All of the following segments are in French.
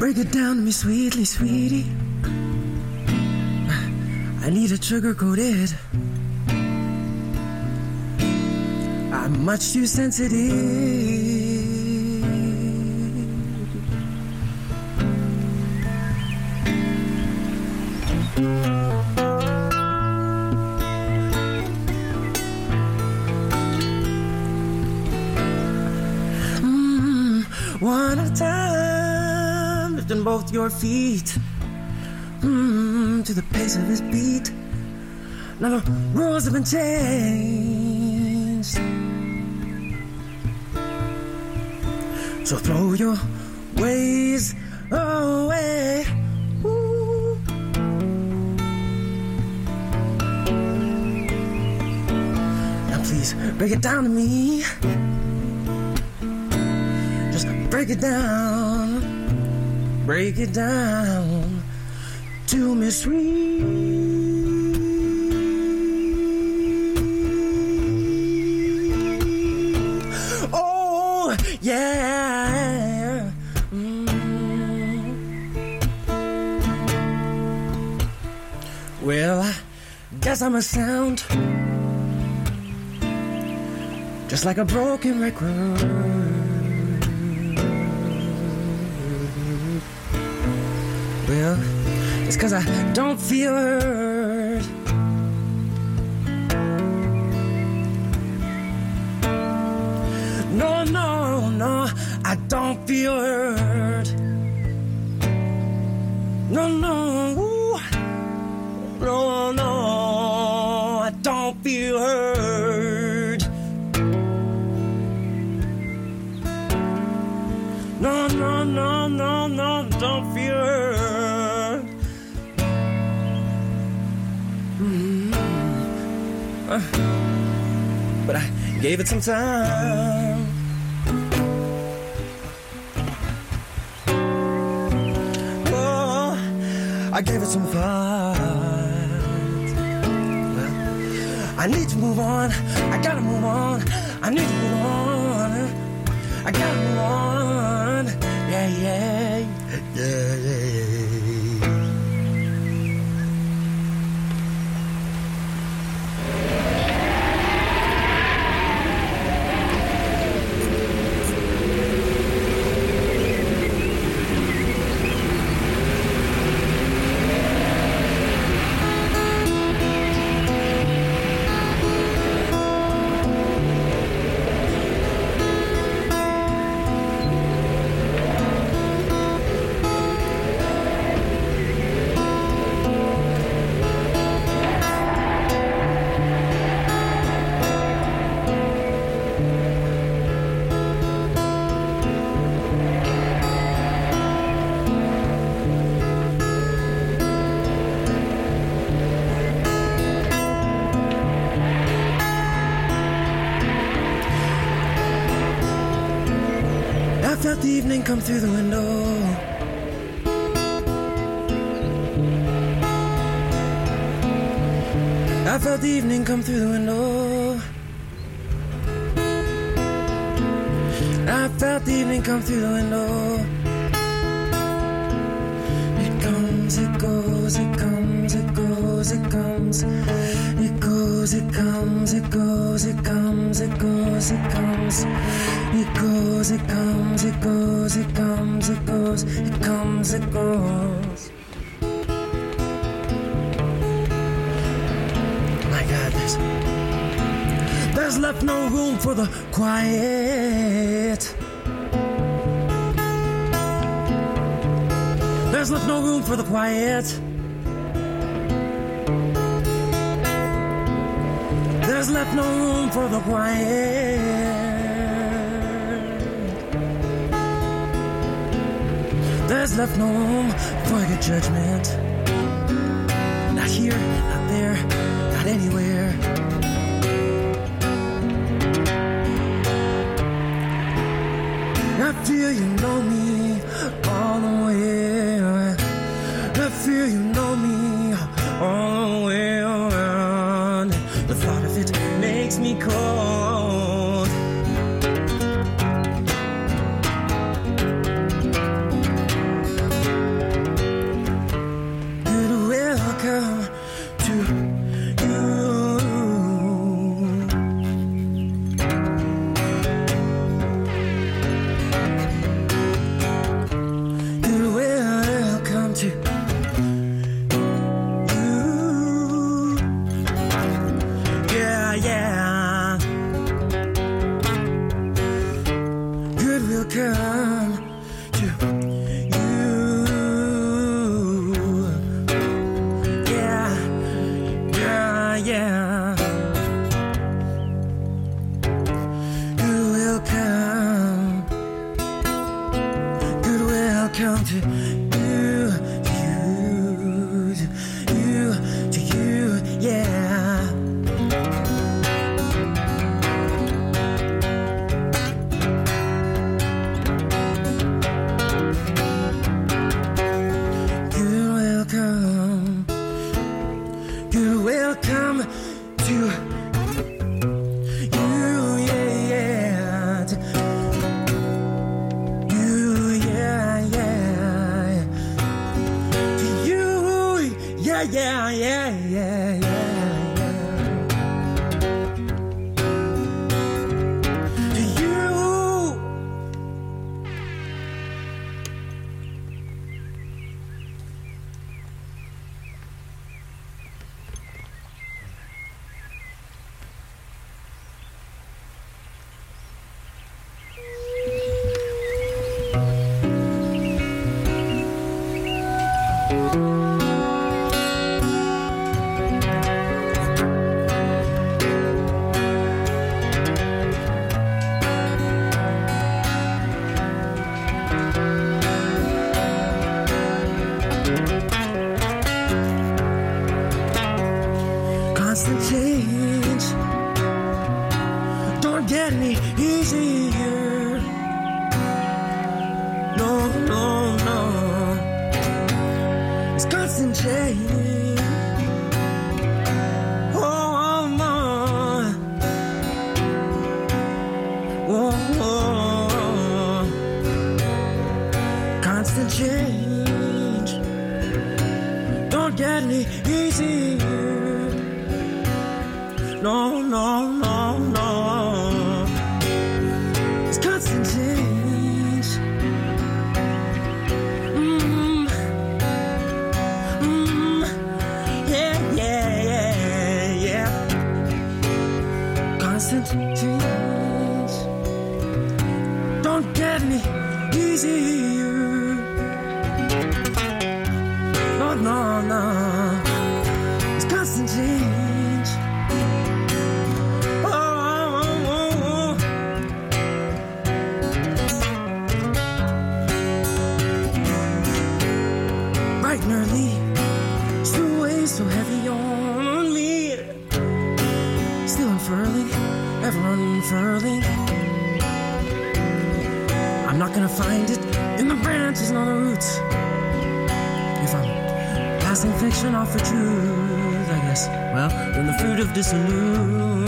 Break it down to me sweetly, sweetie. I need it sugar-coated. I'm much too sensitive. One at a time, lifting both your feet to the pace of his beat. Now the rules have been changed, so throw your ways away. Ooh. Now please break it down to me. Just break it down to me, sweet. Oh, yeah. Well, I guess I'm a sound just like a broken record. Well, it's 'cause I don't feel hurt. No, no, no, I don't feel hurt. No, no, no, no, I don't feel hurt. No, no, no, no, no, don't feel hurt. But I gave it some time. Oh, I gave it some thought. Well, I need to move on. I gotta move on. I need to move on. I gotta move on. Yeah, yeah, yeah, yeah, yeah. I felt the evening come through the window. I felt the evening come through the window. I felt the evening come through the window. It comes, it goes, it comes, it goes, it comes. It goes, it comes, it goes, it comes, it goes, it comes. It goes, it comes, it goes, it comes, it goes, it comes, it goes. My God, there's left no room for the quiet. There's left no room for the quiet. There's left no room for the quiet. There's left no room for good judgment. Not here, not there, not anywhere. I feel you know me all the way around. I feel you know me all the way around. The thought of it makes me cold. to you, to you, yeah. You're welcome to you, yeah, to you, yeah, yeah, to you, yeah, yeah, yeah, yeah, yeah, to you. Constant change don't get any easier. No, no, no. It's constant change. Oh, no. Oh, oh. Constant change don't get any easier. No, no, no, no. It's constant change. Yeah, yeah, yeah, yeah. Constant change don't get me easier. No, no, no. It's constant change. And early, still weighs so heavy on me. Still unfurling, ever unfurling. I'm not gonna find it in the branches and on the roots. If I'm passing fiction off for truth, I guess. Well, then the fruit of disillusion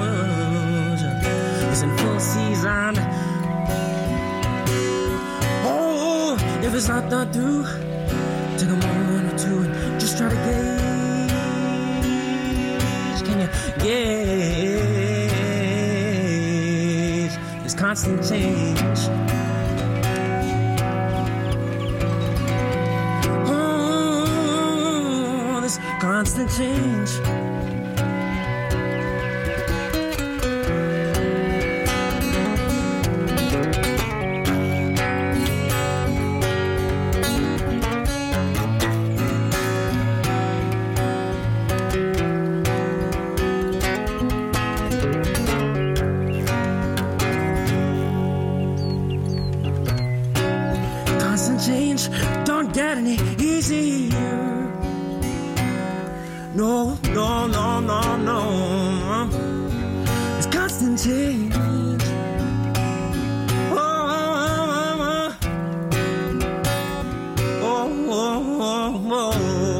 is in full season. Oh, if it's not through, take a moment or two and just try to gauge. Can you gauge this constant change? Oh, this constant change. Change don't get any easier. No, no, no, no, no. It's constant change. Oh, oh, oh, oh, oh.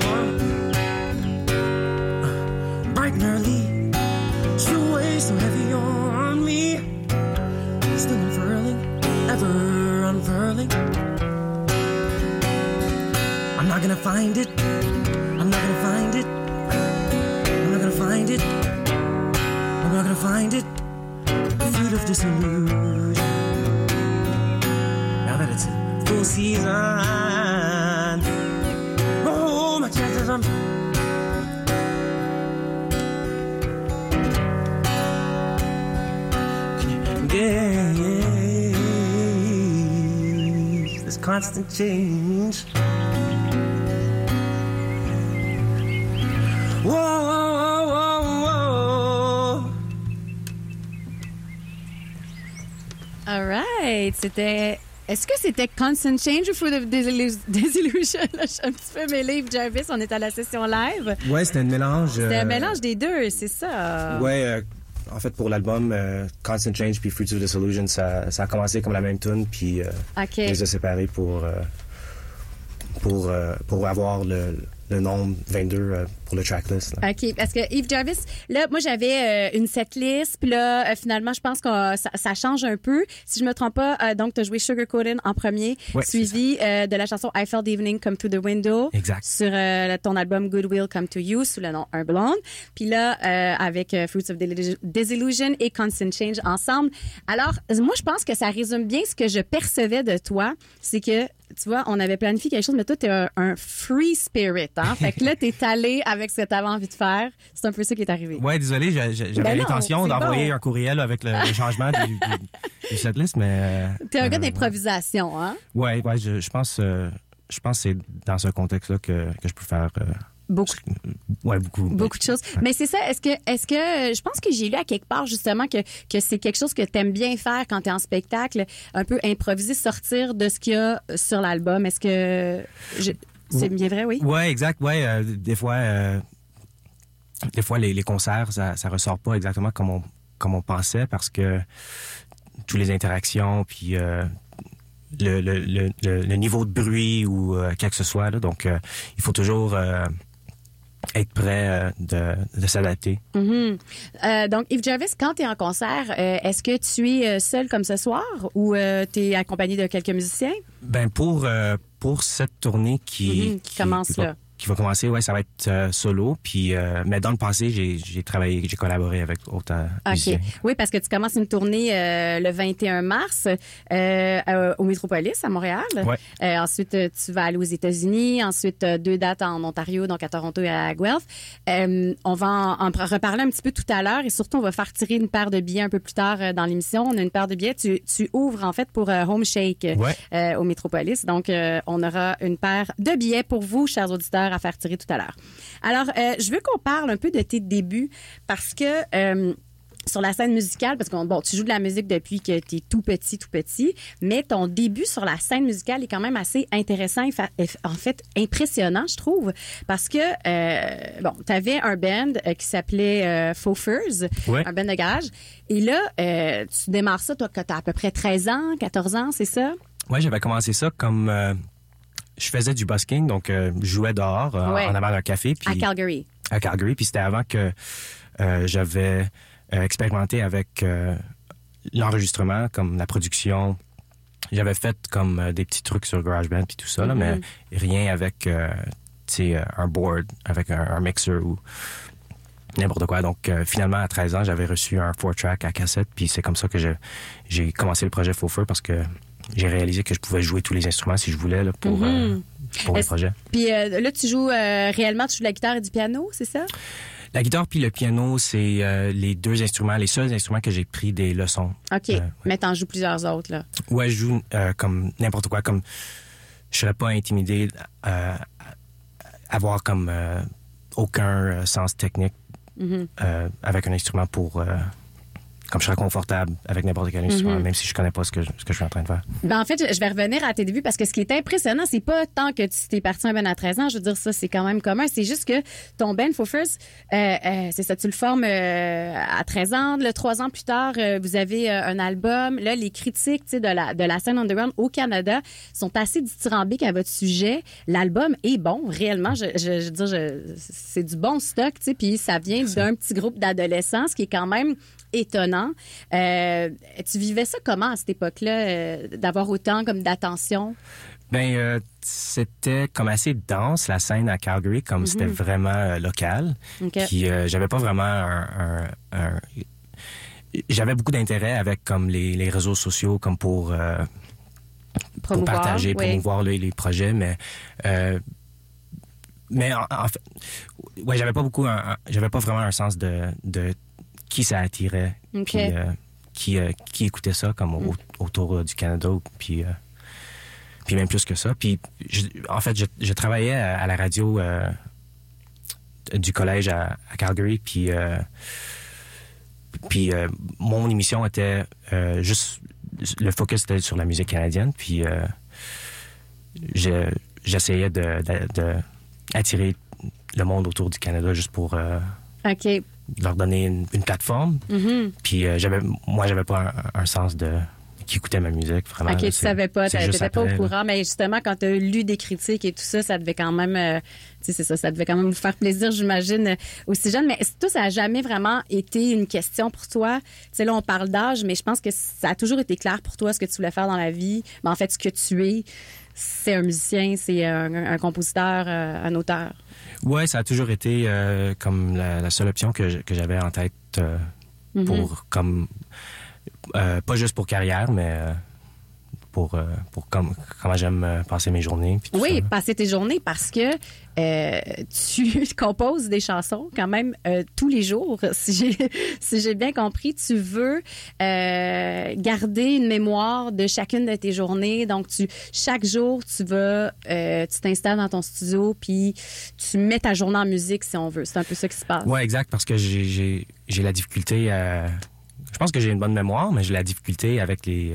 Bright and early, still weighs so heavy on me. Still unfurling, ever unfurling. I'm not gonna find it. I'm not gonna find it. I'm not gonna find it. I'm not gonna find it. The fruit of disillusion. Now that it's in full season. Oh, my chances I'm. Yeah, this constant change. Whoa, whoa, whoa, whoa. All right, c'était Est-ce que c'était Constant Change ou Fruit of Disillusion? Là, je suis un petit peu mêlée. Yves Jarvis, on est à la session live. Ouais, c'était un mélange. C'était un mélange des deux, c'est ça? Ouais, en fait, pour l'album, Constant Change puis Fruits of Disillusion, ça a commencé comme la même tune, puis on les a séparés pour avoir le nombre 22 pour le tracklist. Là. OK, parce que Yves Jarvis, là, moi, j'avais une setlist, puis là, finalement, je pense que ça change un peu. Si je me trompe pas, donc, tu as joué Sugar Coated en premier, suivi de la chanson I Felt the Evening Come Through the Window. Exact. Sur ton album Good Will Come to You, sous le nom Un Blonde. Puis là, avec Fruits of Disillusion et Constant Change ensemble. Alors, moi, je pense que ça résume bien ce que je percevais de toi. C'est que, tu vois, on avait planifié quelque chose, mais toi, t'es un free spirit, hein? Fait que là, t'es allé avec ce que t'avais envie de faire. C'est un peu ça qui est arrivé. Ouais, désolé, j'avais l'intention d'envoyer un courriel avec le changement du setlist, mais... T'es un gars d'improvisation, hein? Ouais, je pense que c'est dans ce contexte-là que je peux faire... Beaucoup de choses. Ouais. Mais c'est ça. Est-ce que je pense que j'ai lu à quelque part justement que c'est quelque chose que t'aimes bien faire quand t'es en spectacle, un peu improviser, sortir de ce qu'il y a sur l'album. Est-ce que c'est bien vrai, oui? Ouais, exact. Ouais, des fois les concerts ça ressort pas exactement comme on pensait parce que toutes les interactions puis le niveau de bruit ou quoi que ce soit là, donc il faut toujours être prêt de s'adapter. Mm-hmm. Donc, Yves Jarvis, quand tu es en concert, est-ce que tu es seul comme ce soir ou tu es accompagné de quelques musiciens? Ben pour cette tournée qui commence là. Qui va commencer, ouais, ça va être solo. Puis, mais dans le passé, j'ai collaboré avec d'autres musiciens. Oui, parce que tu commences une tournée le 21 mars au Métropolis à Montréal. Ouais. Ensuite, tu vas aller aux États-Unis. Ensuite, 2 dates en Ontario, donc à Toronto et à Guelph. On va en reparler un petit peu tout à l'heure et surtout, on va faire tirer une paire de billets un peu plus tard dans l'émission. On a une paire de billets. Tu ouvres en fait pour Home Shake au Métropolis. Donc, on aura une paire de billets pour vous, chers auditeurs, à faire tirer tout à l'heure. Alors, je veux qu'on parle un peu de tes débuts parce que sur la scène musicale, parce que tu joues de la musique depuis que tu es tout petit, mais ton début sur la scène musicale est quand même assez intéressant et en fait impressionnant, je trouve, parce que tu avais un band qui s'appelait Faux Furs, un band de garage, et là, tu démarres ça, toi, quand tu as à peu près 13 ans, 14 ans, c'est ça? Oui, j'avais commencé ça comme... je faisais du busking, donc je jouais dehors en avant d'un café. Puis, à Calgary, puis c'était avant que j'avais expérimenté avec l'enregistrement, comme la production. J'avais fait comme des petits trucs sur GarageBand puis tout ça, là, mais rien avec un board, avec un mixer ou n'importe quoi. Donc, finalement, à 13 ans, j'avais reçu un 4-track à cassette, puis c'est comme ça que j'ai commencé le projet Faux Feu parce que j'ai réalisé que je pouvais jouer tous les instruments si je voulais là, pour le projet. Puis là, tu joues réellement, tu joues de la guitare et du piano, c'est ça? La guitare puis le piano, c'est les deux instruments, les seuls instruments que j'ai pris des leçons. OK, mais t'en joues plusieurs autres, là. Ouais, je joue comme n'importe quoi, comme je serais pas intimidé à avoir comme aucun sens technique avec un instrument pour... comme je serais confortable avec n'importe quel instrument, même si je connais pas ce que je suis en train de faire. Ben en fait, je vais revenir à tes débuts parce que ce qui est impressionnant, c'est pas tant que tu t'es parti un band à 13 ans, je veux dire, ça, c'est quand même commun. C'est juste que ton band Faux Furs, c'est ça, tu le formes à 13 ans. Là, 3 ans plus tard, vous avez un album. Là, les critiques, tu sais, de la scène underground au Canada sont assez dithyrambiques à votre sujet. L'album est bon, réellement. Je veux dire, c'est du bon stock, tu sais, puis ça vient d'un petit groupe d'adolescents, ce qui est quand même étonnant. Tu vivais ça comment à cette époque-là, d'avoir autant comme d'attention? Ben, c'était comme assez dense, la scène à Calgary, comme c'était vraiment local. Puis j'avais pas vraiment j'avais beaucoup d'intérêt avec comme les réseaux sociaux, comme pour partager, promouvoir les projets, mais en fait, ouais, j'avais pas vraiment un sens de qui ça attirait, puis qui écoutait ça comme autour du Canada, puis même plus que ça. Puis en fait, je travaillais à la radio du collège à Calgary, puis mon émission était juste le focus était sur la musique canadienne. Puis j'essayais d'attirer le monde autour du Canada juste pour leur donner une plateforme. Mm-hmm. Puis moi, j'avais pas un sens qui écoutait ma musique, vraiment. OK, tu savais pas, tu n'étais pas au courant, mais justement, quand tu as lu des critiques et tout ça, ça devait quand même, ça devait quand même vous faire plaisir, j'imagine, aussi jeune. Mais toi, ça n'a jamais vraiment été une question pour toi. Tu sais, là, on parle d'âge, mais je pense que ça a toujours été clair pour toi ce que tu voulais faire dans la vie. Mais en fait, ce que tu es, c'est un musicien, c'est un compositeur, un auteur. Oui, ça a toujours été comme la seule option que j'avais en tête pour comme... pas juste pour carrière, mais pour comment j'aime passer mes journées. Puis oui, ça. Passer tes journées parce que tu composes des chansons quand même tous les jours. Si j'ai bien compris, tu veux garder une mémoire de chacune de tes journées. Donc, chaque jour, tu t'installes dans ton studio puis tu mets ta journée en musique, si on veut. C'est un peu ça qui se passe. Oui, exact, parce que j'ai la difficulté à... Je pense que j'ai une bonne mémoire, mais j'ai la difficulté avec les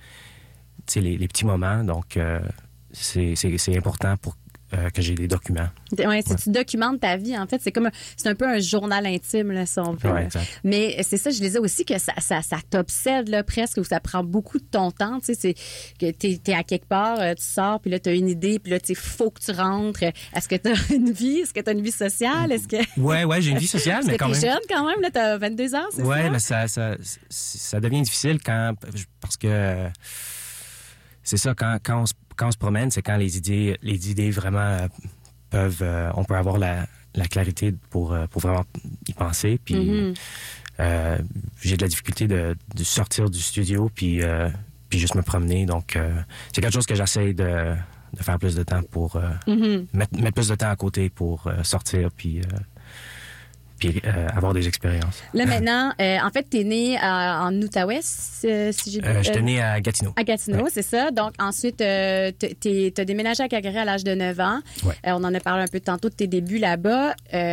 petits moments. Donc, c'est important pour que j'ai des documents. Oui, si tu documentes ta vie, en fait, c'est un peu un journal intime, là, si on veut. Ouais, exact. Mais c'est ça, je disais aussi que ça t'obsède, là, presque, ou ça prend beaucoup de ton temps. Tu sais, c'est que t'es à quelque part, tu sors, puis là, t'as une idée, puis là, il faut que tu rentres. Est-ce que t'as une vie? Est-ce que t'as une vie sociale? Ouais, j'ai une vie sociale, mais quand même... T'es jeune, quand même, là, t'as 22 ans, c'est ça? Ouais, mais ça devient difficile parce que c'est ça, quand on se promène, c'est quand les idées vraiment on peut avoir la clarité pour vraiment y penser. Puis j'ai de la difficulté de sortir du studio puis juste me promener. Donc c'est quelque chose que j'essaie de faire plus de temps pour mettre plus de temps à côté pour sortir puis avoir des expériences. Là, maintenant, en fait, t'es né en Outaouais, si j'ai dit. J'étais né à Gatineau. À Gatineau, ouais. C'est ça. Donc, ensuite, t'as déménagé à Calgary à l'âge de 9 ans. Ouais. On en a parlé un peu tantôt de tes débuts là-bas.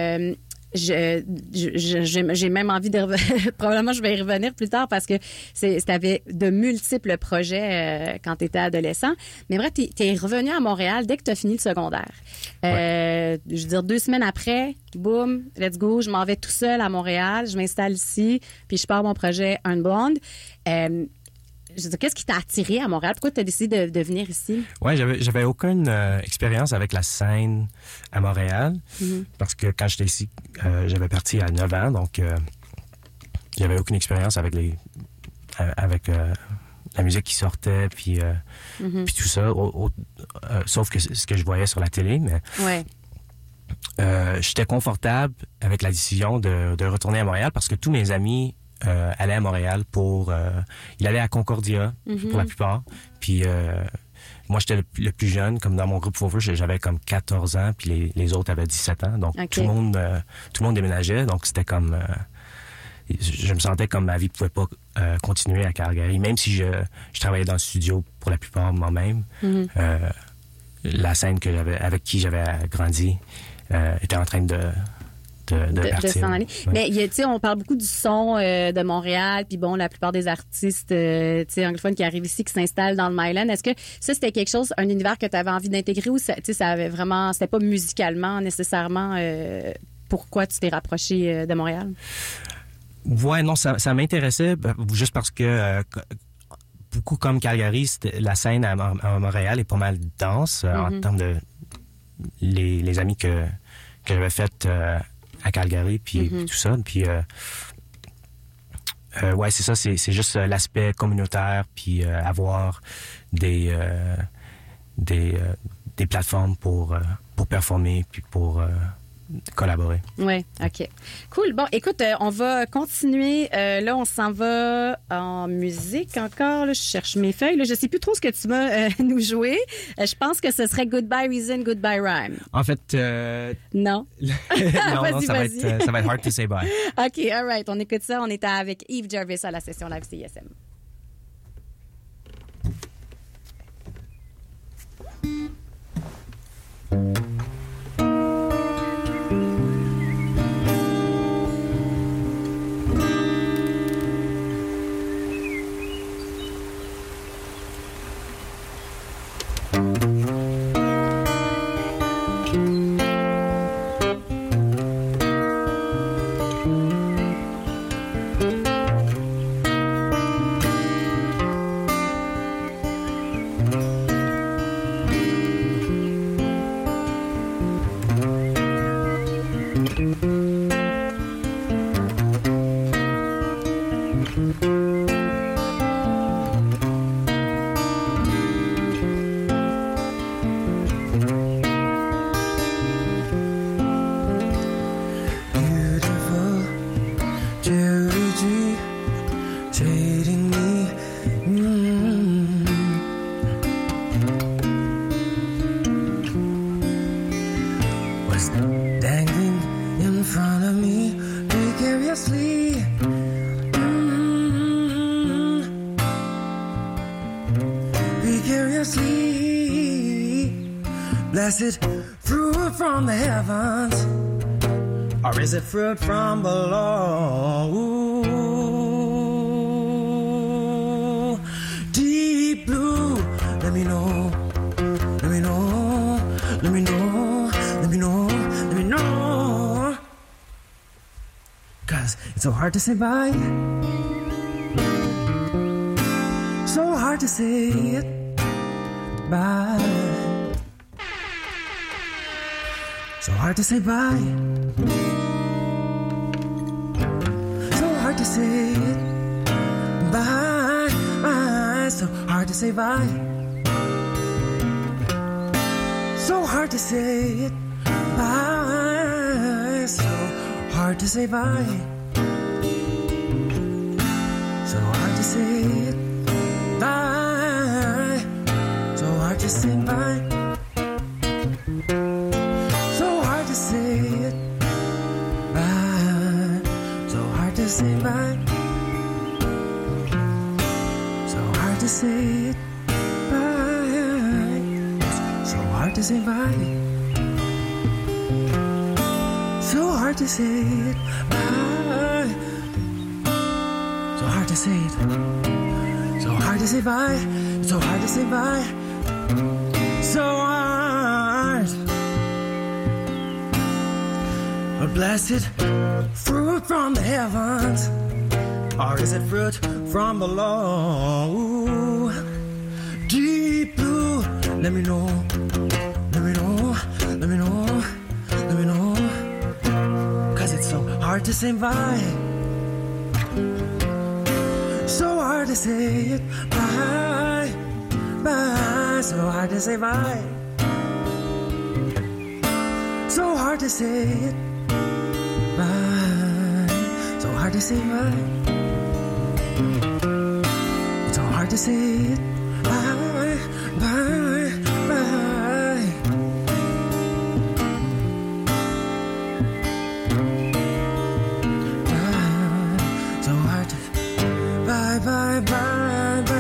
J'ai même envie de probablement je vais y revenir plus tard parce que t'avais de multiples projets quand t'étais adolescent. Mais bref, t'es revenu à Montréal dès que t'as fini le secondaire. Je veux dire, 2 semaines après, boum, let's go, je m'en vais tout seul à Montréal, je m'installe ici, puis je pars mon projet Un Blonde. Je veux dire, qu'est-ce qui t'a attiré à Montréal? Pourquoi tu as décidé de venir ici? Oui, j'avais aucune expérience avec la scène à Montréal. Parce que quand j'étais ici, j'avais parti à 9 ans, donc j'avais aucune expérience avec la musique qui sortait, puis tout ça. Sauf que ce que je voyais sur la télé, mais j'étais confortable avec la décision de retourner à Montréal parce que tous mes amis allaient à Montréal il allait à Concordia pour la plupart. Puis moi, j'étais le plus jeune, comme dans mon groupe Forever, j'avais comme 14 ans, puis les autres avaient 17 ans. Donc tout le monde déménageait, donc c'était comme... je me sentais comme ma vie pouvait pas continuer à Calgary, même si je travaillais dans le studio pour la plupart moi-même. La scène avec qui j'avais grandi était en train de partir. S'en aller. Ouais. Mais tu sais, on parle beaucoup du son de Montréal, puis bon, la plupart des artistes anglophones qui arrivent ici, qui s'installent dans le Myland. Est-ce que ça, c'était quelque chose, un univers que tu avais envie d'intégrer ou ça avait vraiment, c'était pas musicalement nécessairement pourquoi tu t'es rapproché de Montréal? Ouais, non, ça m'intéressait juste parce que beaucoup comme Calgary, la scène à Montréal est pas mal dense en termes de les amis que j'avais fait à Calgary, puis tout ça. Puis, ouais, c'est ça, c'est juste l'aspect communautaire, puis avoir des plateformes pour performer, puis pour collaborer. Oui, OK. Cool. Bon, écoute, on va continuer. Là, on s'en va en musique encore. Là, je cherche mes feuilles. Là, je ne sais plus trop ce que tu vas nous jouer. Je pense que ce serait Goodbye Reason, Goodbye Rhyme. En fait... Non. non, ça va être Hard to Say Bye. OK, all right. On écoute ça. On est avec Yves Jarvis à la session live CISM. obviously blessed fruit from the heavens, or is it fruit from below? Ooh, deep blue, let me know, let me know, let me know, let me know, let me know. 'Cause it's so hard to say bye, so hard to say it bye, so hard to say bye, so hard to say it bye, so hard to say bye, so hard to say it bye, so hard to say bye, so hard to say it bye, so hard to say bye, so hard to say it bye, so hard to say bye, so hard to say it bye, so hard to say bye, so hard to say it bye, so hard to say it, so hard to say bye, so hard to say bye, so hard. A blessed fruit from the heavens, or is it fruit from below? Deep blue, let me know, let me know, let me know, let me know. 'Cause it's so hard to say bye, so hard to say it bye, bye, so hard to say bye, so hard to say it bye, so hard to say bye, so hard to say it bye, bye, bye. So hard to bye, bye, bye, bye.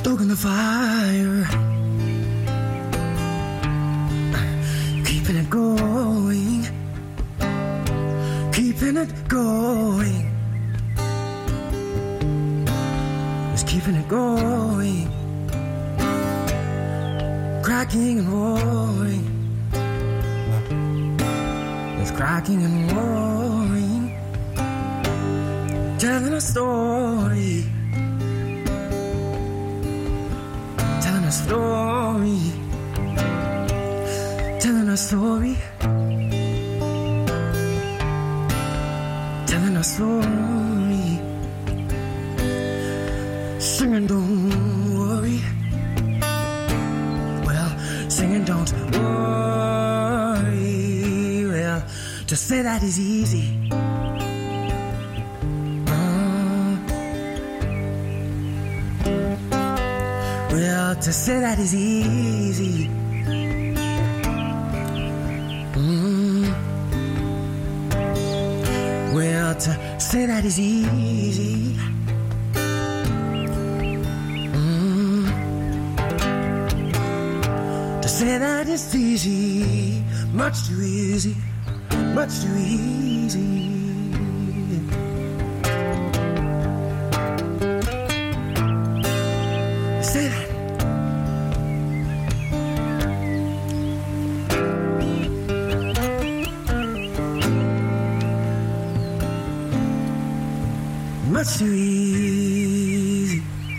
stoking the fire, keeping it going, keeping it going, just keeping it going, cracking and roaring, just cracking and roaring, telling a story. Telling a story, telling a story, telling a story, singing don't worry, well, singing don't worry, well, to say that is easy. Well, to say that is easy. Well, to say that is easy. To say that is easy. Much too easy. Much too easy. Say that. Much too easy.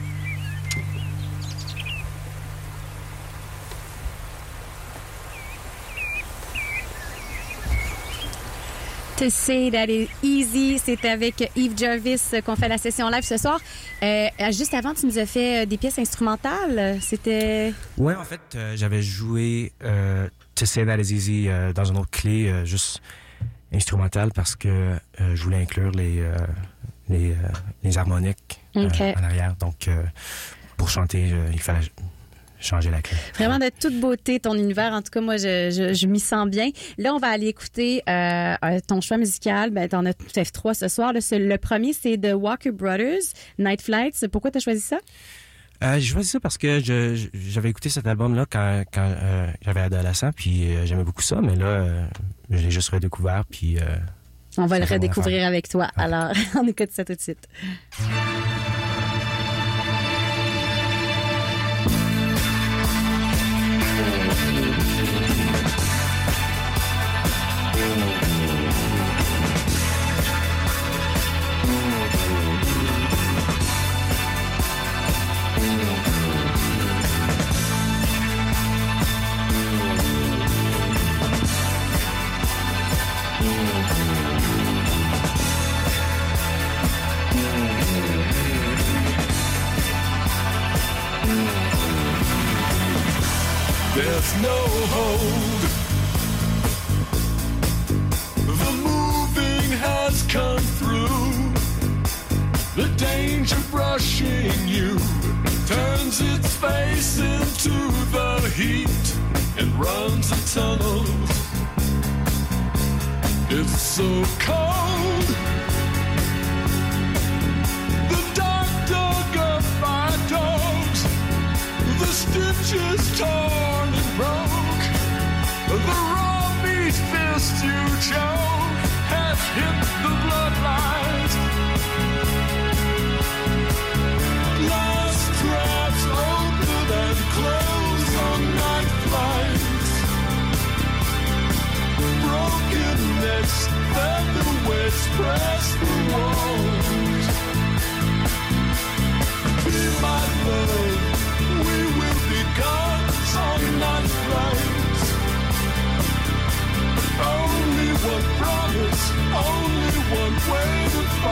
To say that is easy, c'est avec Yves Jarvis qu'on fait la session live ce soir. Juste avant, tu nous as fait des pièces instrumentales. C'était... Ouais, en fait, j'avais joué To Say That Is Easy dans une autre clé, juste instrumentale, parce que je voulais inclure les harmoniques en arrière. Donc, pour chanter, il fallait changer la clé. Vraiment de toute beauté, ton univers. En tout cas, moi, je m'y sens bien. Là, on va aller écouter ton choix musical. Ben, t'en as F3 ce soir. Là, le premier, c'est de Walker Brothers, Night Flights. Pourquoi t'as choisi ça? J'ai choisi ça parce que j'avais écouté cet album-là quand j'avais adolescent, puis j'aimais beaucoup ça, mais là, je l'ai juste redécouvert, puis... on va le redécouvrir avec toi. Ouais. Alors, on écoute ça tout de suite. There's no hold. The moving has come through. The danger brushing you turns its face into the heat and runs a tunnel. It's so cold. The dark dug up by dogs. The stitches torn and broke. The raw meat fist you choke has hit the bloodlines. Glass traps open and close on night flights. Broken necks, featherweights press the walls. Be my love. We will be gods on night flights. Only one promise, only one way to find.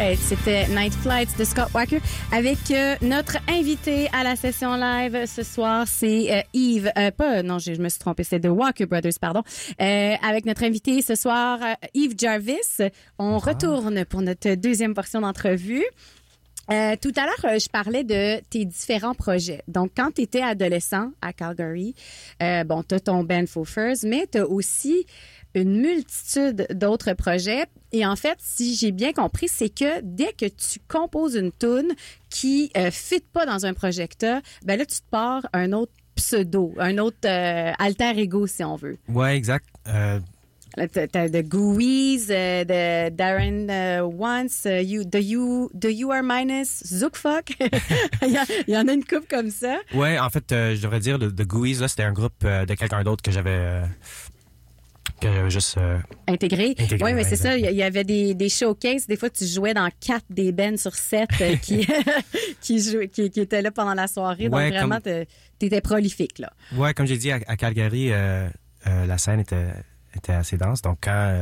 right, c'était Night Flights de Scott Walker avec notre invité à la session live ce soir, c'est Yves, je me suis trompée, c'est The Walker Brothers, pardon. Avec notre invité ce soir, Yves Jarvis. On retourne pour notre deuxième portion d'entrevue. Tout à l'heure, je parlais de tes différents projets. Donc, quand tu étais adolescent à Calgary, t'as ton band Faux Furs, mais t'as aussi une multitude d'autres projets. Et en fait, si j'ai bien compris, c'est que dès que tu composes une toune qui fit pas dans un projet que t'as, ben là, tu te pars un autre pseudo, un autre alter ego, si on veut. Ouais, exact. T'as de Gooey's, de Darren Once, de You Are Minus, Zookfuck. il y en a une couple comme ça. Ouais, en fait, je devrais dire, de Gooey's, là, c'était un groupe de quelqu'un d'autre que j'avais juste intégré. Oui, mais c'est ça. Il y avait des showcases. Des fois, tu jouais dans 4 des bands sur 7 qui étaient là pendant la soirée. Ouais, donc, vraiment, t'étais prolifique, là. Ouais, comme j'ai dit, à Calgary, la scène était assez dense. Donc,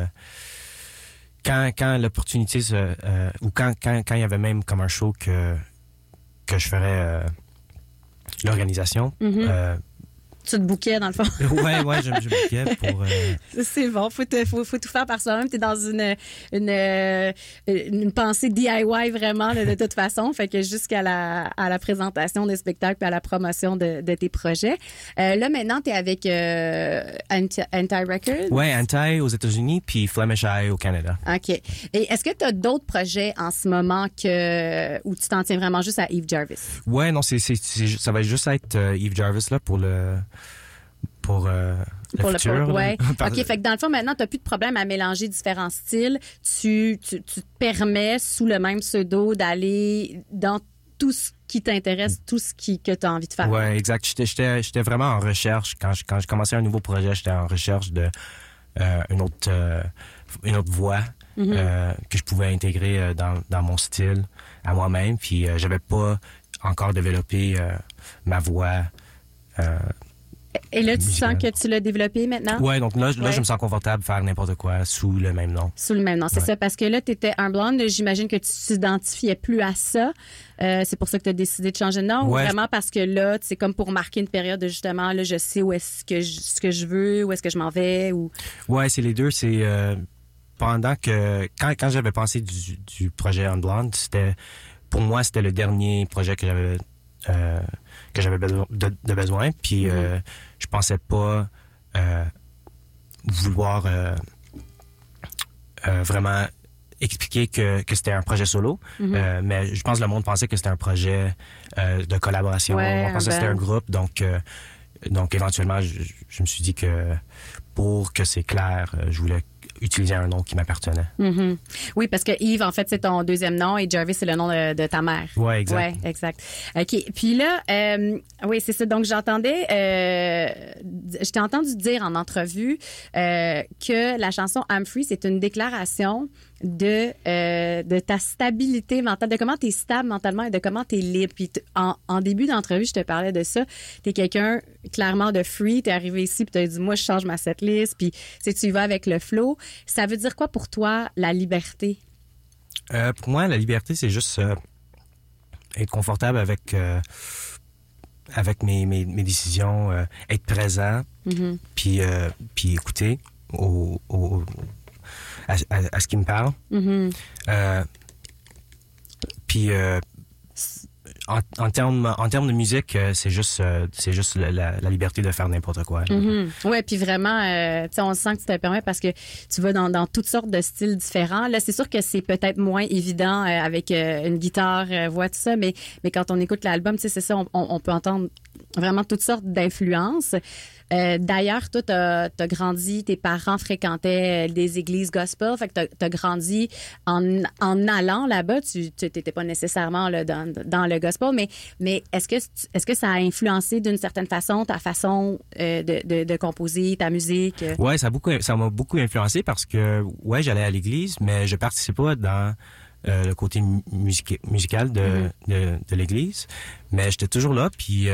quand l'opportunité ou quand il y avait même comme un show que je ferais l'organisation, tu te bouquais, dans le fond. ouais, je me bouquais pour... C'est bon, faut tout faire par soi-même. T'es dans une pensée DIY vraiment, là, de toute façon. Fait que jusqu'à la présentation des spectacles et à la promotion de tes projets. Là, maintenant, t'es avec Anti Records. Ouais, Anti aux États-Unis puis Flemish Eye au Canada. OK. Et est-ce que t'as d'autres projets en ce moment où tu t'en tiens vraiment juste à Yves Jarvis? Ouais, non, ça va juste être Yves Jarvis là pour le futur. Ouais. OK, fait que dans le fond, maintenant, tu n'as plus de problème à mélanger différents styles. Tu te permets, sous le même pseudo, d'aller dans tout ce qui t'intéresse, tout ce que tu as envie de faire. Ouais, exact. J'étais vraiment en recherche. Quand je commençais un nouveau projet, j'étais en recherche de une autre voix que je pouvais intégrer dans mon style à moi-même. Puis j'avais pas encore développé ma voix et là, tu sens que tu l'as développé maintenant? Ouais, donc là, je me sens confortable de faire n'importe quoi sous le même nom. Sous le même nom, c'est ça. Parce que là, tu étais un blonde. J'imagine que tu t'identifiais plus à ça. C'est pour ça que tu as décidé de changer de nom? Ouais, ou vraiment parce que là, c'est comme pour marquer une période de justement, là, je sais où est-ce que ce que je veux, où est-ce que je m'en vais? Ou... Ouais, c'est les deux. C'est pendant que... Quand j'avais pensé du projet Unblonde, pour moi, c'était le dernier projet que j'avais besoin. Puis je pensais pas vouloir vraiment expliquer que c'était un projet solo. Mais je pense que le monde pensait que c'était un projet de collaboration. Ouais, on pensait que c'était un groupe. Donc éventuellement, je me suis dit que pour que c'est clair, je voulais utiliser un nom qui m'appartenait. Oui, parce que Yves, en fait, c'est ton deuxième nom et Jarvis, c'est le nom de ta mère. Oui, exact. Ouais, exact. OK. Puis là, oui, c'est ça. Donc, je t'ai entendu dire en entrevue que la chanson I'm Free, c'est une déclaration de ta stabilité mentale, de comment tu es stable mentalement et de comment tu es libre. Puis en début d'entrevue, je te parlais de ça. Tu es quelqu'un clairement de free. Tu es arrivé ici puis tu as dit, moi, je change ma setlist. Puis tu y vas avec le flow. Ça veut dire quoi pour toi, la liberté? Pour moi, la liberté, c'est juste être confortable avec mes décisions, être présent, puis écouter à ce qui me parle. Puis en termes de musique, c'est juste la liberté de faire n'importe quoi. Ouais, puis vraiment, on sent que tu te permets parce que tu vas dans toutes sortes de styles différents. Là, c'est sûr que c'est peut-être moins évident avec une guitare, voix, tout ça, mais quand on écoute l'album, c'est ça, on peut entendre vraiment toutes sortes d'influences. D'ailleurs, toi, t'as grandi, tes parents fréquentaient des églises gospel, fait que t'as grandi en allant là-bas. Tu t'étais pas nécessairement là, dans le gospel, mais est-ce que ça a influencé d'une certaine façon ta façon de composer, ta musique? Ouais, ça m'a beaucoup influencé parce que j'allais à l'église, mais je participais pas dans le côté musical de l'église, mais j'étais toujours là, puis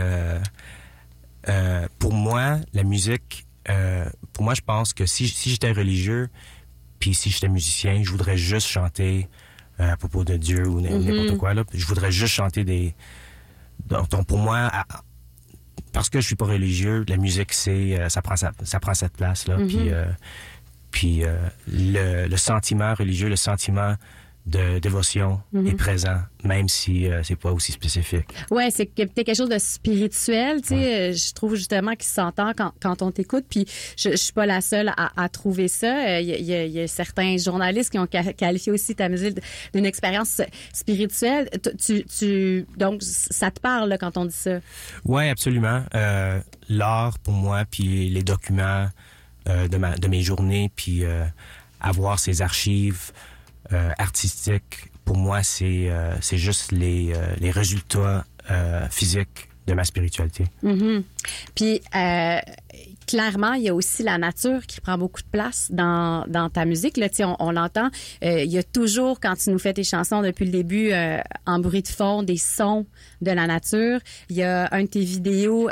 pour moi, la musique, je pense que si j'étais religieux, puis si j'étais musicien, je voudrais juste chanter à propos de Dieu ou n'importe quoi. Là. Je voudrais juste chanter des... Donc pour moi, parce que je suis pas religieux, la musique, ça prend cette place-là. Puis le sentiment religieux, le sentiment de dévotion est présent, même si c'est pas aussi spécifique. Ouais, c'est quelque chose de spirituel, tu sais. Je trouve justement qu'il s'entend quand on t'écoute. Puis je suis pas la seule à trouver ça. Il y a certains journalistes qui ont qualifié aussi ta musique d'une expérience spirituelle. Donc ça te parle là, quand on dit ça. Ouais, absolument. L'art pour moi, puis les documents de mes journées, puis avoir ces archives artistiques, pour moi, c'est juste les résultats physiques de ma spiritualité. Puis, clairement, il y a aussi la nature qui prend beaucoup de place dans ta musique. Là, on l'entend. Il y a toujours, quand tu nous fais tes chansons depuis le début, en bruit de fond, des sons de la nature. Il y a un de tes vidéos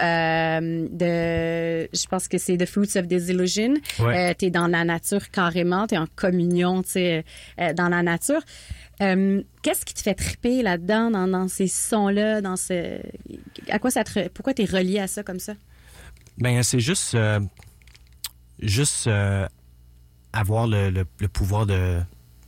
je pense que c'est The Fruits of Disillusion. Ouais. T'es dans la nature carrément, t'es en communion, dans la nature. Qu'est-ce qui te fait triper là-dedans, dans ces sons-là, à quoi pourquoi t'es relié à ça comme ça? Ben c'est juste avoir le pouvoir de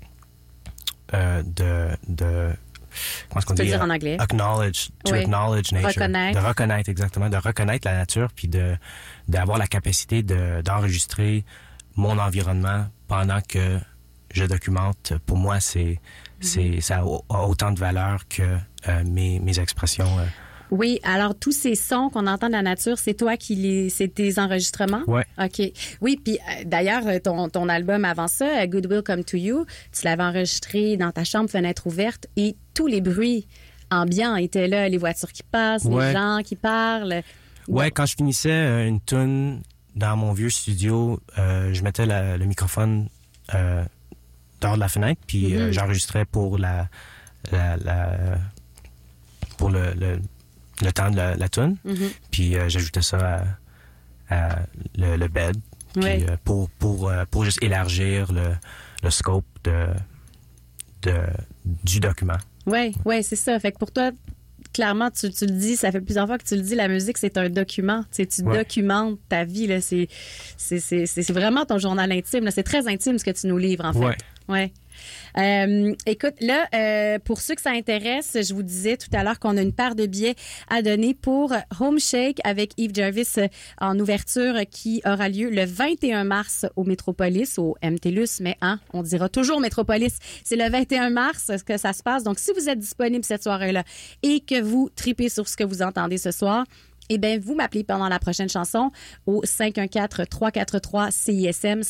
comment est-ce qu'on dit? Dire en anglais. Acknowledge nature. Reconnaître. De reconnaître, exactement. De reconnaître la nature, puis d'avoir la capacité d'enregistrer mon environnement pendant que je documente. Pour moi, ça a autant de valeur que mes expressions. Oui, alors tous ces sons qu'on entend de la nature, c'est toi c'est tes enregistrements? Oui. OK. Oui, puis d'ailleurs, ton album avant ça, Good Will Come to You, tu l'avais enregistré dans ta chambre, fenêtre ouverte, et tous les bruits ambiants étaient là, les voitures qui passent, les gens qui parlent. Ouais, quand je finissais une tune dans mon vieux studio, je mettais le microphone dehors de la fenêtre, puis j'enregistrais pour pour le temps de la tune, puis j'ajoutais ça à le bed, puis pour juste élargir le scope du document. Oui, c'est ça. Fait que pour toi, clairement, tu le dis, ça fait plusieurs fois que tu le dis, la musique, c'est un document. Tu documentes ta vie. Là, c'est vraiment ton journal intime. Là. C'est très intime ce que tu nous livres, en fait. Ouais. Écoute, là, pour ceux que ça intéresse, je vous disais tout à l'heure qu'on a une paire de billets à donner pour Home Shake avec Yves Jarvis en ouverture qui aura lieu le 21 mars au Métropolis, au MTLUS, mais on dira toujours Métropolis. C'est le 21 mars que ça se passe. Donc, si vous êtes disponible cette soirée-là et que vous tripez sur ce que vous entendez ce soir, eh bien, vous m'appelez pendant la prochaine chanson au 514-343-CISM,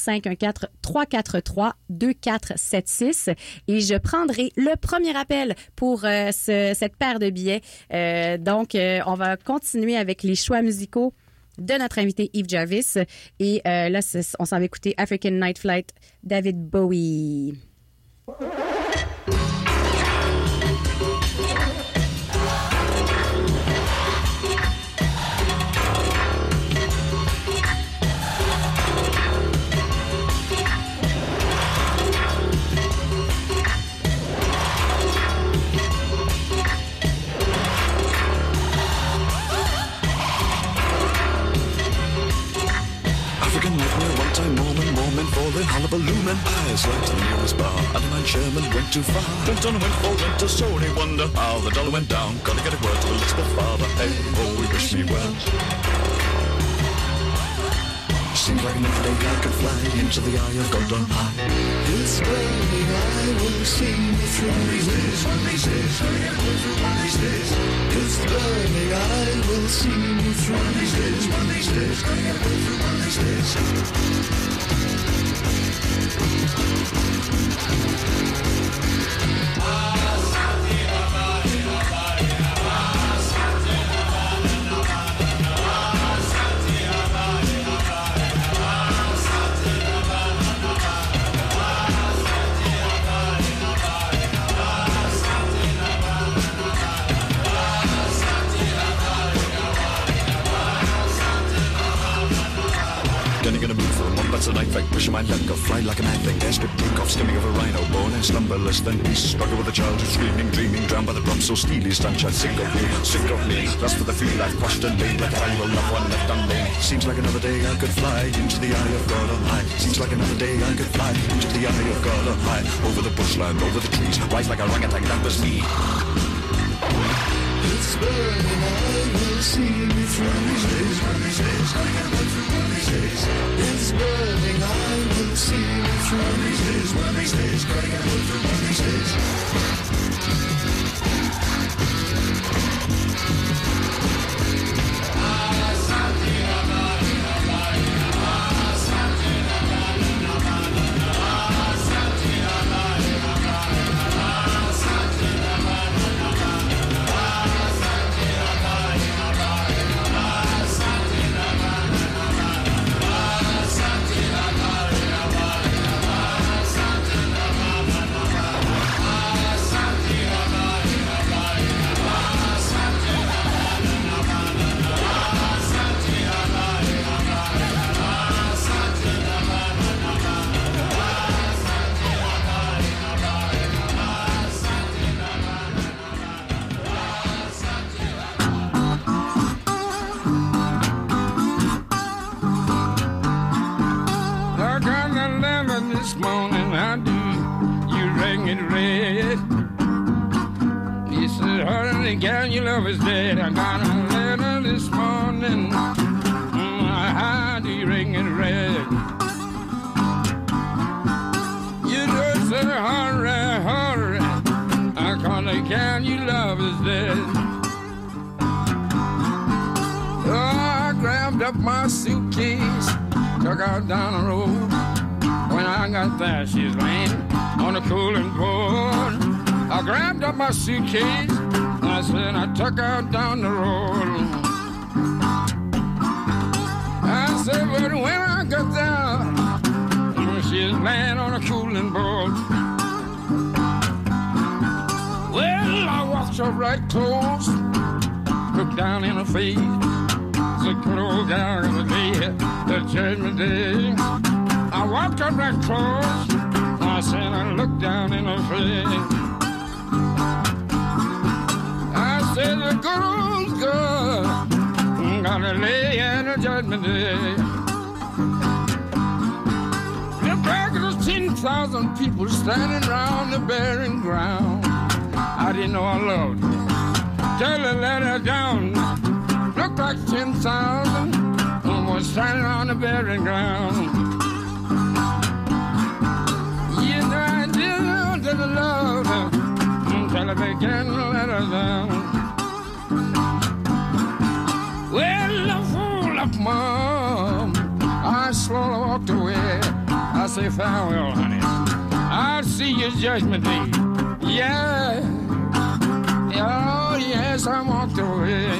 514-343-2476. Et je prendrai le premier appel pour cette paire de billets. Donc, on va continuer avec les choix musicaux de notre invité Yves Jarvis. Et là, on s'en va écouter African Night Flight, David Bowie. For the hullabaloo and eyes like the nearest bar. Adeline Sherman went too far. Clinton went for rent, a sorry wonder how the dollar went down. Gotta get a word to Elizabeth father. Hey, oh, we wish me well. Seems like enough day I could fly into the eye of God on high. This burning I will see me through. One these days, one these days, gonna get a word through one these days. This burning I will see me through. One these days, one these days, gonna get a word through one these days. the night fight, pushing my luck, go fly like a mad thing. Desperate takeoff, skimming of a rhino, born and slumberless. Then beast, struggle with a child who's screaming, dreaming, drowned by the drum so steely, stunned child. Sick of me, lust for the field I've crushed and laid like a will not one left unlaid. Seems like another day I could fly into the eye of God on high. Seems like another day I could fly into the eye of God on high. Over the bushland, over the trees, rise like a orangutan, that was me. It's burning, I will see me through these days, one of these days, I can run through one of these days. It's burning, I will see me through these days, one of these days, I can run through one of these days. This morning I do, you rang it red. You said, honey, gal, your love is dead. I got a letter this morning, I do, you ring it red. You just said, hurry, hurry, I call the gal, your love is dead. Oh, I grabbed up my suitcase, took out down the road. When I got there, she's laying on a cooling board. I grabbed up my suitcase, I said I took her down the road. I said, but when I got there, she's laying on a cooling board. Well, I walked up right close, looked down in her face, said, close down in the day, the judgment day. I walked up that close, I said I looked down in her face. I said the good old girl gotta lay in the judgment day. The back of the 10,000 people standing around the burying ground. I didn't know I loved her till I let her down. Looked like 10,000 was standing on the burying ground. I loved her until I began to let her down. Well, I fool up, Mom. I slowly walked away. I say farewell, honey. I'll see you judgment day. Yeah. Oh, yes, I walked away.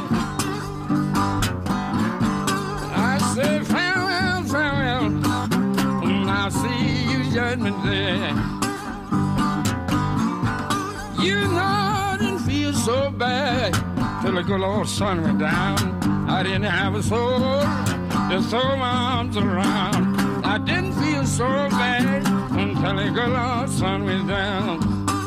I say farewell, farewell. I'll see you judgment day. You know, I didn't feel so bad till the good old sun went down. I didn't have a soul to throw my arms around. I didn't feel so bad until the good old sun went down.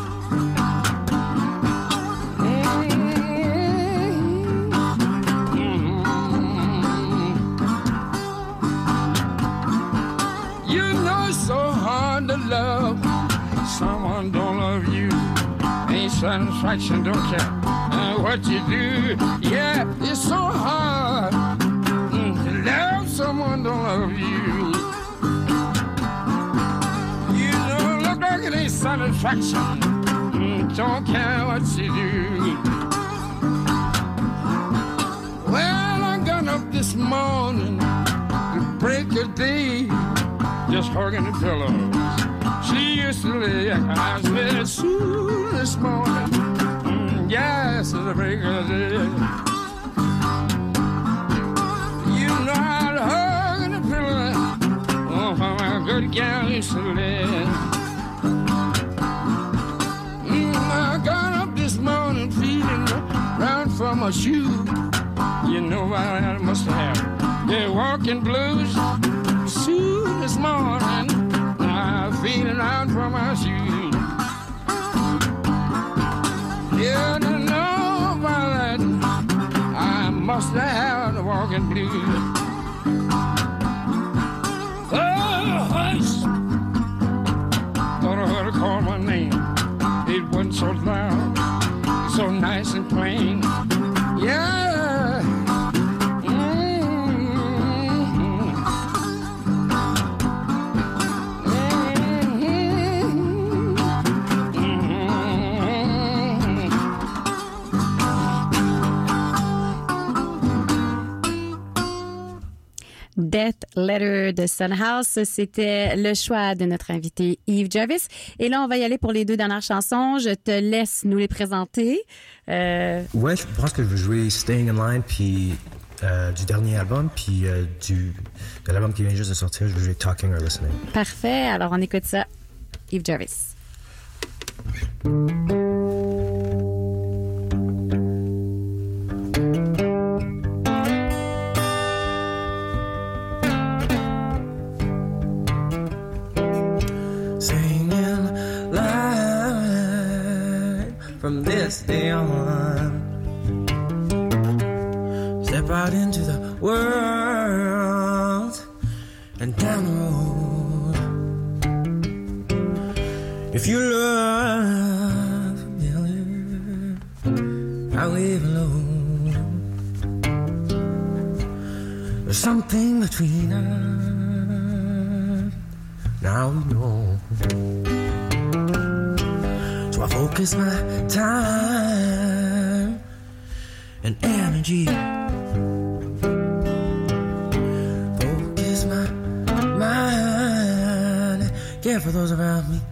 You know it's so hard to love someone don't love you. Ain't satisfaction, don't care what you do. Yeah, it's so hard to love someone don't love you. You know, look like it ain't satisfaction, don't care what you do. Well, I got up this morning to break a day, just hugging the pillows. She used to lay eyes with soon this morning. Yes, it's a break of the day. You know how to hug in the pillow. Oh, how my good gal used to lay. I got up this morning feeling round for my shoe. You know what I must have. They're walking blues. soon this morning, I'm feeling out from my shoes. Yeah, to know about that, I must have the walking blues. Oh, hush! Thought I heard her call my name. It wasn't so loud, so nice and plain. Yeah. Death Letter de Son House, c'était le choix de notre invité Yves Jarvis. Et là, on va y aller pour les deux dernières chansons. Je te laisse nous les présenter. Ouais, je pense que je vais jouer Staying in Line, puis du dernier album, puis de l'album qui vient juste de sortir, je vais jouer Talking or Listening. Parfait. Alors, on écoute ça. Yves Jarvis. From this day on, step out into the world and down the road. If you look familiar, I wave low. There's something between us, now we know. I focus my time and energy. Focus my mind, care for those around me.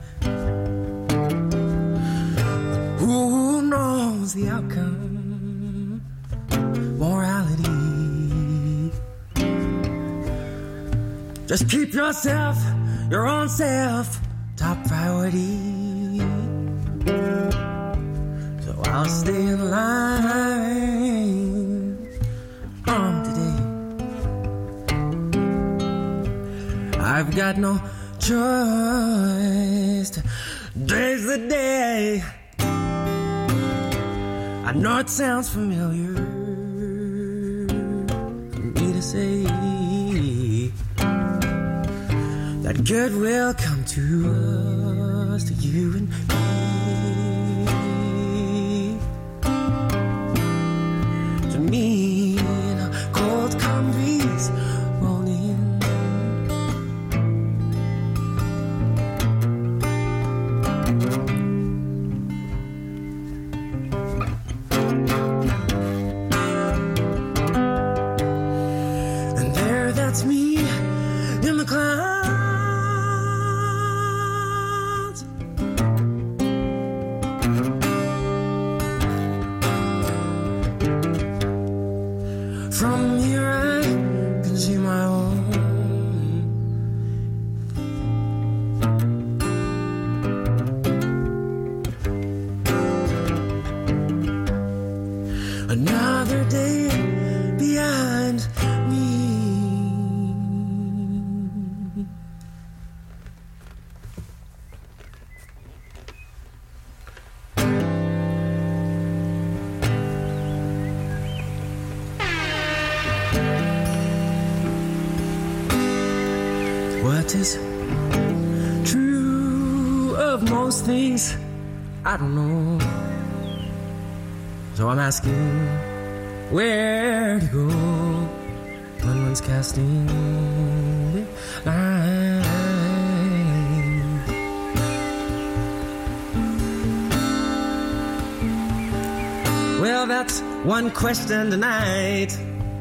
Who knows the outcome? Morality. Just keep yourself, your own self, top priority. So I'll stay in line from today. I've got no choice. Today's the day. I know it sounds familiar for me to say that good will come to us, to you and me. Me in a cold calm breeze rolling. And there, that's me in the clouds. From here I can see my home. Another day behind me. What is true of most things, I don't know. So I'm asking where to go when one's casting the line. Well, that's one question tonight.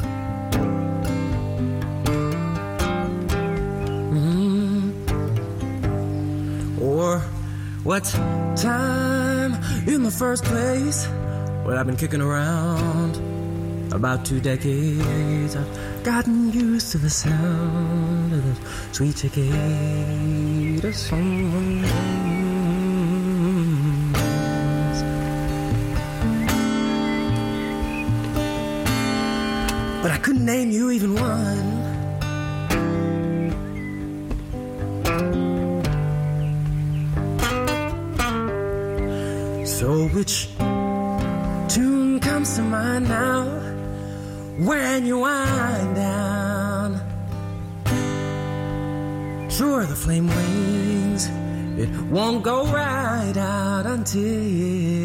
Or what's time in the first place? Well, I've been kicking around about 2 decades. I've gotten used to the sound of the sweet cicada songs. But I couldn't name you even one. which tune comes to mind now when you wind down? Sure, the flame wanes, it won't go right out until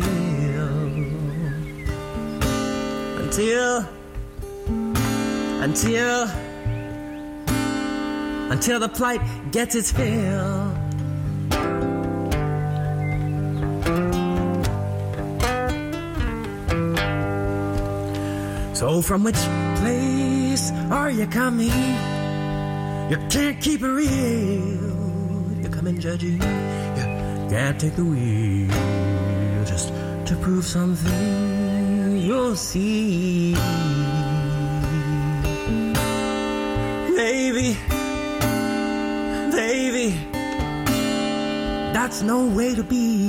the plight gets its fill. So from which place are you coming? You can't keep it real. You're coming judging. You can't take the wheel just to prove something. You'll see. Baby, that's no way to be.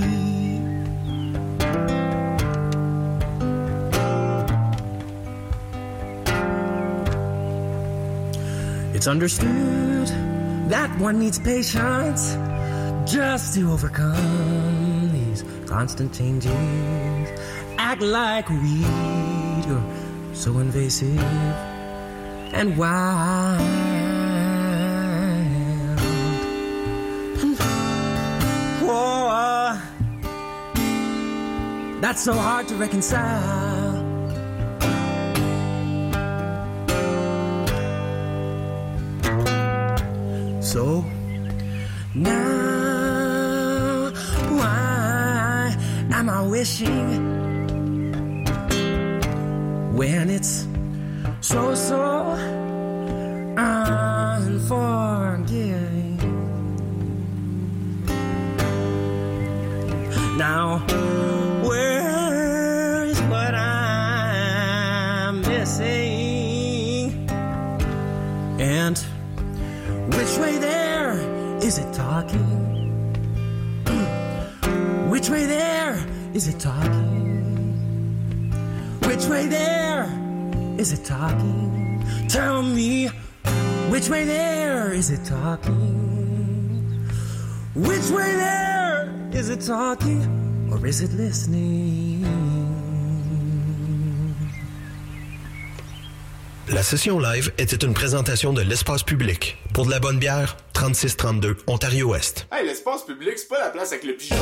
It's understood that one needs patience just to overcome these constant changes. Act like a weed, you're so invasive and wild. Whoa, that's so hard to reconcile. So now, why am I wishing when it's so unforgiving? Now, where is what I'm missing? And which way there is it talking? Which way there is it talking? Which way there is it talking? Tell me, which way there is it talking? Which way there is it talking, or is it listening? La session live était une présentation de l'Espace Public. Pour de la bonne bière, 3632 Ontario-Ouest. Hey, l'Espace Public, c'est pas la place avec le pigeon.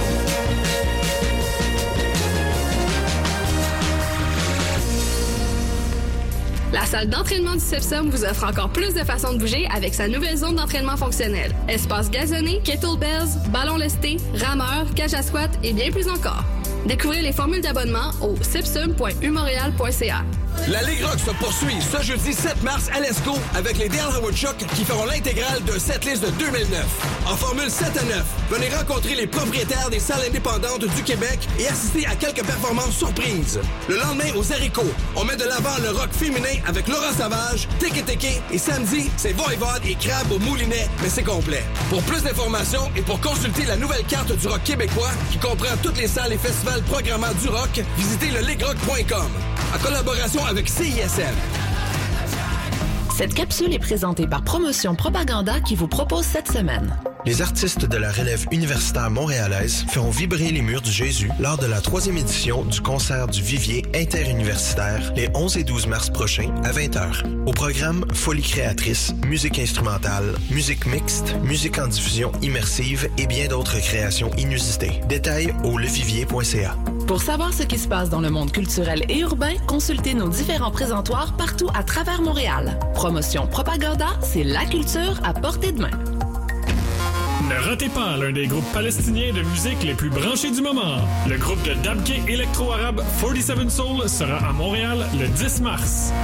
La salle d'entraînement du CEPSOM vous offre encore plus de façons de bouger avec sa nouvelle zone d'entraînement fonctionnel. Espace gazonné, kettlebells, ballons lestés, rameurs, cage à squat et bien plus encore. Découvrez les formules d'abonnement au sepsum.umontréal.ca. La Ligue Rock se poursuit ce jeudi 7 mars à l'ESCO avec les Dale Woodchuck qui feront l'intégrale de setlist de 2009. En formule 7 à 9, venez rencontrer les propriétaires des salles indépendantes du Québec et assister à quelques performances surprises. Le lendemain, aux haricots, on met de l'avant le rock féminin avec Laurent Savage, Teke Teke et samedi, c'est Voivode et Crabe au Moulinet, mais c'est complet. Pour plus d'informations et pour consulter la nouvelle carte du rock québécois qui comprend toutes les salles et festivals programmant du rock, visitez le legrock.com. En collaboration avec CISM. Cette capsule est présentée par Promotion Propaganda qui vous propose cette semaine. Les artistes de la relève universitaire montréalaise feront vibrer les murs du Jésus lors de la 3e édition du concert du Vivier interuniversitaire les 11 et 12 mars prochains à 20h. Au programme, folie créatrice, musique instrumentale, musique mixte, musique en diffusion immersive et bien d'autres créations inusitées. Détails au levivier.ca. Pour savoir ce qui se passe dans le monde culturel et urbain, consultez nos différents présentoirs partout à travers Montréal. Promotion Propaganda, c'est la culture à portée de main. Ne ratez pas l'un des groupes palestiniens de musique les plus branchés du moment. Le groupe de dabke électro-arabe 47 Soul sera à Montréal le 10 mars.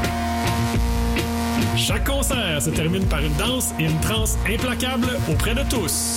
Chaque concert se termine par une danse et une transe implacables auprès de tous.